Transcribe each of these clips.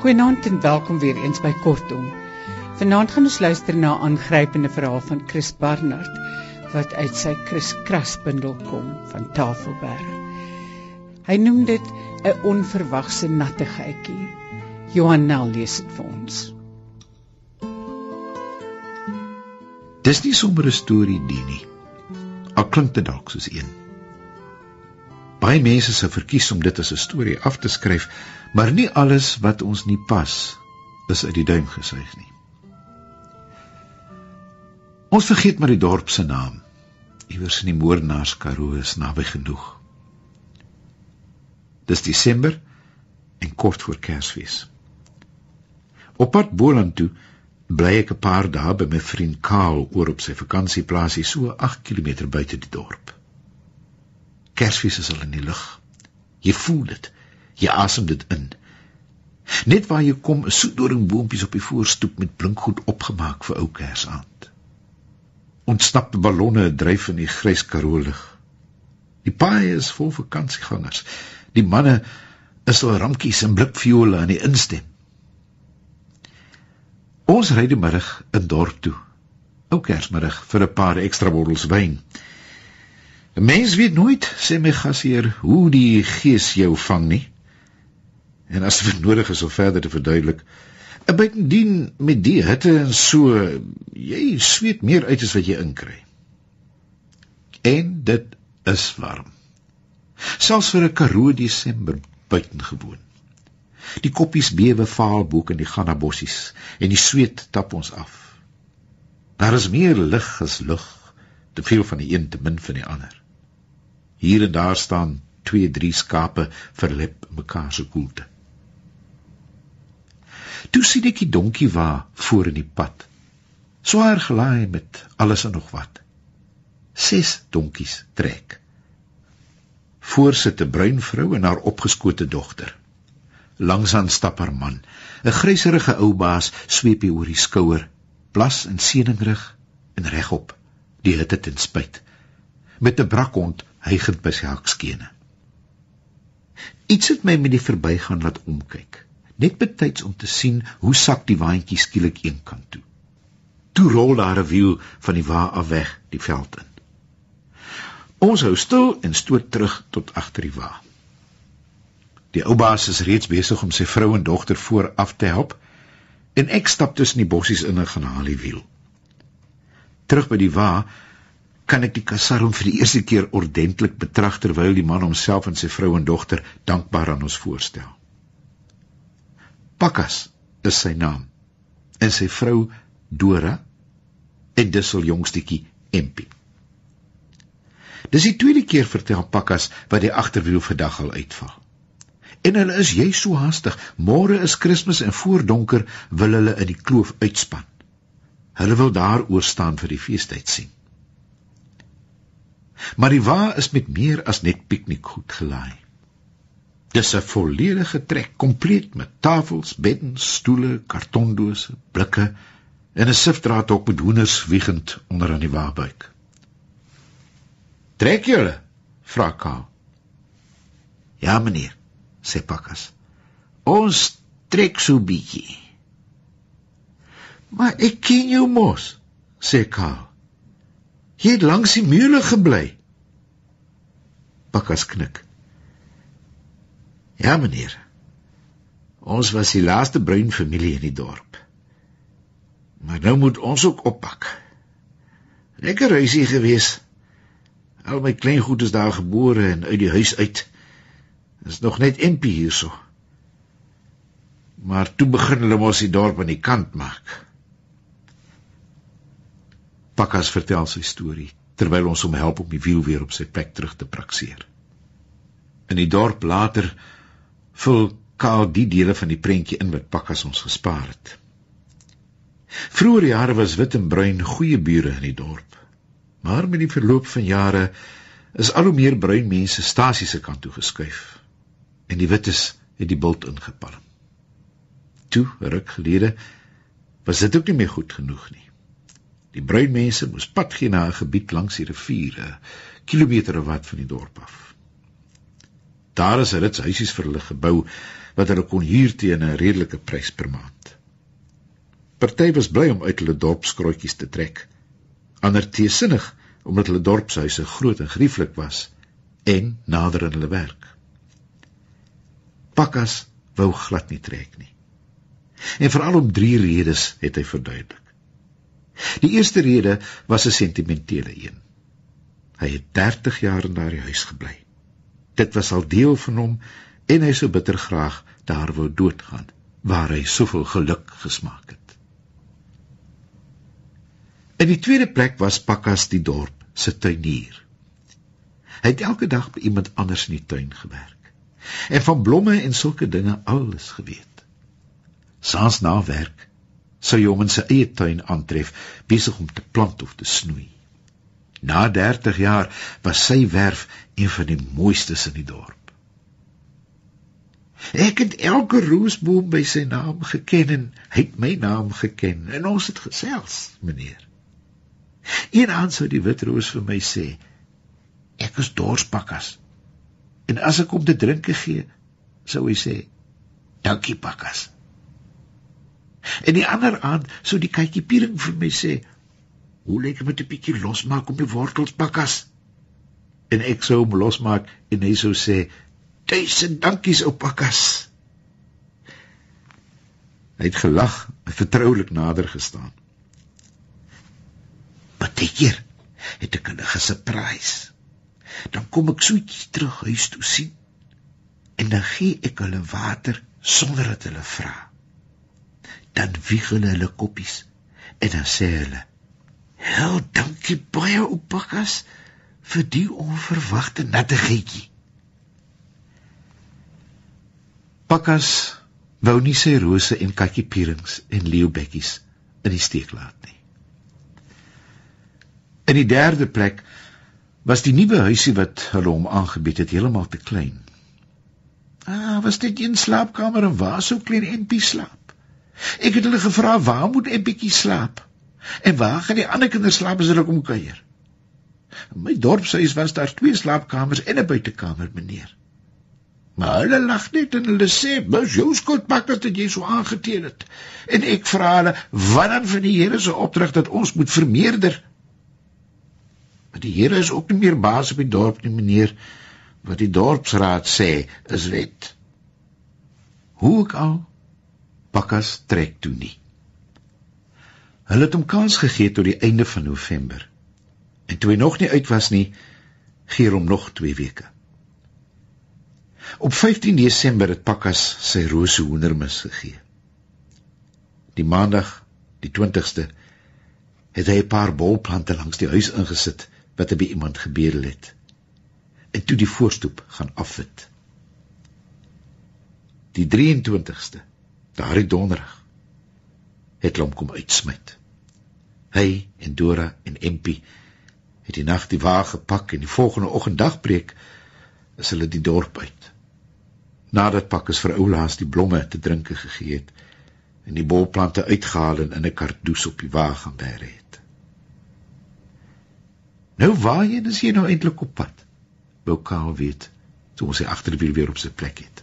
Goeienaand en welkom weer eens by Kortom. Vanaand gaan ons luister na 'n aangrypende verhaal van Chris Barnard, wat uit sy Chris Kras bundel kom van Tafelberg. Hy noem dit 'n onverwagse nattigheidjie. Johan Nel lees dit vir ons. Dis nie sommer 'n storie die nie, al klink dit dalk soos een. Baie mense sou verkies om dit as 'n storie af te skryf, maar nie alles wat ons nie pas, is uit die duim gesuig nie. Ons vergeet maar die dorp se naam. Iewers in die moordenaars Karoo is naby genoeg. Dis Desember en kort voor Kersfees. Op pad Boland toe bly ek 'n paar dae by my vriend Karl oor op sy vakansieplaasie so 8 kilometer buite die dorp. Kersfees is al in die lug. Jy voel dit, jy asem dit in. Net waar jy kom, is soetdoringboompies op die voorstoep met blinkgoed opgemaak vir ou Kersaand. Ontsnapte ballonne dryf in die grys Karoo lug. Die paaie is vol vakansiegangers. Die manne is al ramkies en blikviole aan die instem. Ons ry die middag in dorp toe, ou Kersmiddag, vir 'n paar ekstra bottels wyn. 'n Mens weet nooit, sê my gasheer, hoe die gees jou vang nie. En as dit nodig is om verder te verduidelik, buitendien met die hitte en so, jy sweet meer uit as wat jy inkry. En dit is warm. Selfs vir 'n Karoo Desember buitengewoon. Die koppies bewe vaal boek in die gannabossies en die sweet tap ons af. Daar is meer lig as lug, te veel van die een, te min van die ander. Hier en daar staan 2-3 skape verlep mekaar se koelte. Toe sien ek die donkie wa voor in die pad, swaar gelaai met alles en nog wat. 6 donkies trek. Voor sit 'n bruin vrou en haar opgeskote dogter. Langsaan stap haar man, 'n gryserige ou baas, sweepie oor die skouer, blas en seninrig en regop, die hitte ten spyt, met 'n brakhond hygend by sy hakskene. Iets het my met die verbygaan laat omkyk, net betyds om te sien hoe sak die waantjie skielik een kant toe. Toe rol daar 'n wiel van die wa af weg die veld in. Ons hou stil en stoot terug tot agter die wa. Die ou baas is reeds besig om sy vrou en dogter vooraf te help, en ek stap tussen die bossies in en gaan haal die wiel. Terug by die wa kan ek die kasarm vir die eerste keer ordentlik betrag, terwyl die man homself en sy vrou en dogter dankbaar aan ons voorstel. Pakkas is sy naam, en sy vrou Dora, en dis hul jongstietjie Empie. Dis die tweede keer vertel Pakkas wat die agterwiel vandag al uitval. En hulle is juist so haastig, môre is Kersfees en voor donker wil hulle in die kloof uitspan. Hulle wil daar oorstaan vir die feestyd sien. Maar die wa is met meer as net piknikgoed gelaai. Dis 'n volledige trek, kompleet met tafels, beddens, stoele, kartondose, blikke en 'n sifdraadhok met hoenders wiegend onder aan die wa-buik. Trek julle? Vra Karl. Ja, meneer, sê Pakkas. Ons trek so bietjie. Maar ek ken jou mos, sê Karl. Jy het langs die mule gebly. Pakkas knik. Ja, meneer. Ons was die laaste bruin familie in die dorp. Maar nou moet ons ook oppak. Lekker huisie gewees. Al my kleingoed is daar gebore en uit die huis uit. Is nog net Empie hierso. Maar toe begin hulle mos die dorp aan die kant maak. Pakkas vertel sy storie, terwyl ons hom help om die wiel weer op sy plek terug te prakseer. In die dorp later vul Karl die dele van die prentjie in wat Pakkas ons gespaar het. Vroeger jare was wit en bruin goeie bure in die dorp, maar met die verloop van jare is al hoe meer bruin mense stasie se kant toe geskuif, en die wites het die bult ingepalm. Toe, 'n ruk gelede, was dit ook nie meer goed genoeg nie. Die bruin mense moes pad gee na 'n gebied langs die rivier, 'n kilometer of wat van die dorp af. Daar is 'n rits huisies vir hulle gebou, wat hulle kon huur teen 'n redelike prys per maand. Party was bly om uit hulle dorpskrootjies te trek, ander teesinnig omdat hulle dorpshuise groot en gerieflik was en nader aan hulle werk. Pakkas wou glad nie trek nie. En veral om 3 redes het hy verduidelik. Die eerste rede was 'n sentimentele een. Hy het 30 jaar in daardie huis gebly. Dit was al deel van hom en hy sou bitter graag daar wou doodgaan, waar hy soveel geluk gesmaak het. In die tweede plek was Pakkas die dorp se tuinier. Hy het elke dag by iemand anders in die tuin gewerk en van blomme en sulke dinge alles geweet. Saans na werk sou hy hom in sy eie tuin aantref, besig om te plant of te snoei. Na 30 jaar was sy werf een van die mooistes in die dorp. Ek het elke roosboom by sy naam geken en hy het my naam geken en ons het gesels, meneer. Een aand sou die witroos vir my sê, ek is dors, Pakkas, en as ek om te drinke gee, sou hy sê, dankie, Pakkas. En die ander aand sou die katjiepiering vir my sê, hoe lyk met 'n bietjie losmaak op die wortels, Pakkas? En ek sou hom losmaak en hy sou sê, 1000 dankies, ou Pakkas. Hy het gelag en vertroulik nader gestaan. Partykeer het ek hulle gesurprise. Dan kom ek soetjies terug huis toe sien en dan gee ek hulle water sonder dat hulle vra. Dan wieg hulle koppies en dan sê hulle, heel dankie baie, ou Pakkas, vir die onverwagte nattigheidjie. Pakkas wou nie sy rose en katjiepierings en leeubekkies in die steek laat nie. In die derde plek was die nuwe huisie wat hulle hom aangebied het heeltemal te klein. Was dit een slaapkamer en waar sou klein Empie slaap? Ek het hulle gevra, waar moet Empie slaap? En waar gaan die ander kinders slaap as hulle kom kuier? In my dorpshuis was daar 2 slaapkamers en 'n buitekamer, meneer. Maar hulle lag net en hulle sê, "Dis jou skuld, Pakkas, dat jy so aangeteel het." En ek vra hulle, "Wat dan van die Here se opdrag dat ons moet vermeerder?" Maar die Here is ook nie meer baas op die dorp nie, meneer. Wat die dorpsraad sê, is wet. Hoe ook al, Pakkas trek toe nie. Hulle het hom kans gegee tot die einde van November. En toe hy nog nie uit was nie, gee hom nog 2 weke. Op 15 Desember het Pakkas sy rose hoendermis gegee. Die maandag, die 20ste, het hy 'n paar bolplante langs die huis ingesit, wat hy by iemand gebedel het, en toe die voorstoep gaan afwit. Die 23ste, daardie donderdag, het hulle hom kom uitsmyt. Hy en Dora en Empie het die nag die wa gepak en die volgende oggend dagbreek is hulle die dorp uit. Nadat Pakkas vir oulaas die blomme te drinke gegee het en die bolplante uitgehaal en in 'n kardoes op die wa gaan bære het. Nou waarheen is jy nou eintlik op pad? Wou Kaal weet, toe ons die agterwiel weer op sy plek het.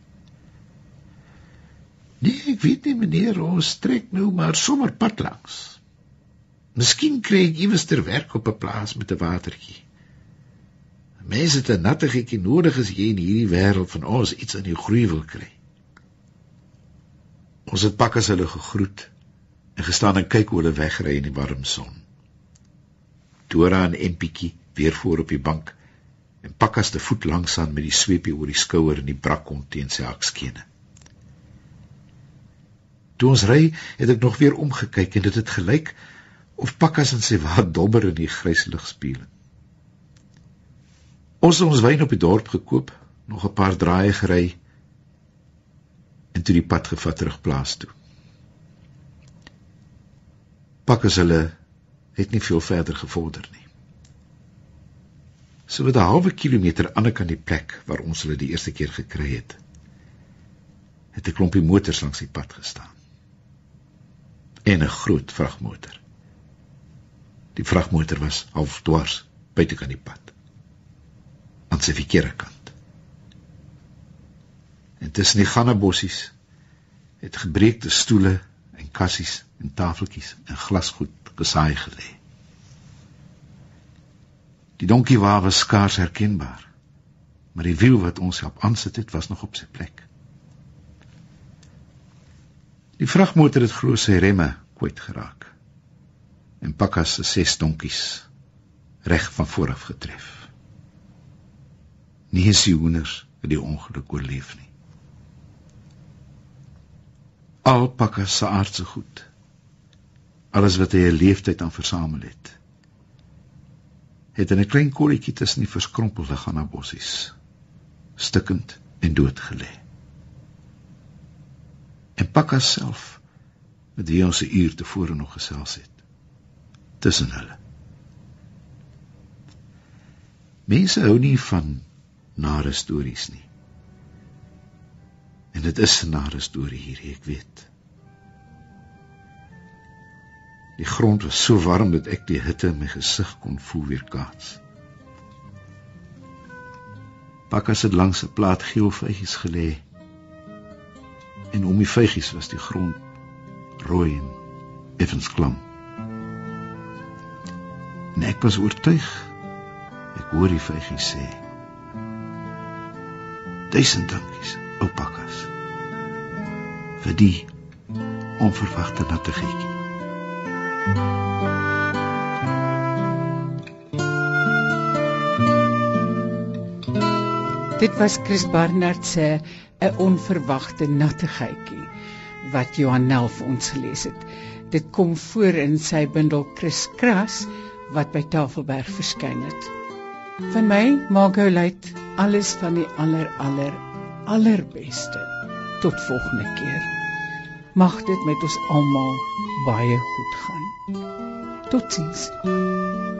Nee, ek weet nie, meneer, ons trek nou maar sommer pad langs. Miskien kry ek iewers ter werk op 'n plaas met 'n watertjie. Mense het 'n nattigheidjie nodig as jy in hierdie wêreld van ons iets aan die groei wil kry. Ons het Pakkas hulle gegroet en gestaan en kyk hoe hulle wegry in die warm son. Dora en Empietjie weer voor op die bank en Pakkas te voet langsaan met die sweepie oor die skouer en die brakkont teen sy hakskene. Toe ons ry, het ek nog weer omgekyk en dit het gelyk of Pakkas en sy wa dobber in die grys ligspieëling. Ons het ons wyn op die dorp gekoop, nog 'n paar draaie gery en toe die pad gevat terug plaas toe. Pakkas hulle het nie veel verder gevorder nie. So wat 'n halwe kilometer aan die kant die plek waar ons hulle die eerste keer gekry het, het 'n klompie motors langs die pad gestaan. En 'n groot vragmotor. Die vragmotor was half dwars buitekant die pad, aan sy verkeerde kant. En tussen die gannabossies het gebreekte stoele en kassies en tafeltjies en glasgoed gesaai gelê. Die donkiewa was skaars herkenbaar, maar die wiel wat ons help aansit het, was nog op sy plek. Die vragmotor het glo sy remme kwyt geraak, en Pakkas se 6 donkies reg van vooraf getref. Nie eens die hoenders het die ongeluk oorleef nie. Al Pakkas se aardse goed, alles wat hy 'n leeftyd aan versamel het in 'n klein kolletjie tussen die verskrompelde gannabossies, stikkend en dood gelê. En Pakkas self, met wie ons 'n uur tevore nog gesels het, tussen hulle. Mense hou nie van nare stories nie. En dit is 'n nare storie hier, ek weet. Die grond was so warm dat ek die hitte in my gesig kon voel weerkaats. Pakkas het langs 'n plaat geel vygies gelê, en om die vygies was die grond rooi en effens klam. En ek was oortuig, ek hoor die vygies sê, 1000 dankies, ou Pakkas, vir die onverwagte nattigheidjie. Dit was Chris Barnard se 'n onverwagte nattigheidjie wat Johan Nel vir ons gelees het. Dit kom voor in sy bundel Kriskras wat by Tafelberg verskyn het. Van my, Margot Luit, alles van die allerbeste. Tot volgende keer. Mag dit met ons almal baie goed gaan. Totsiens.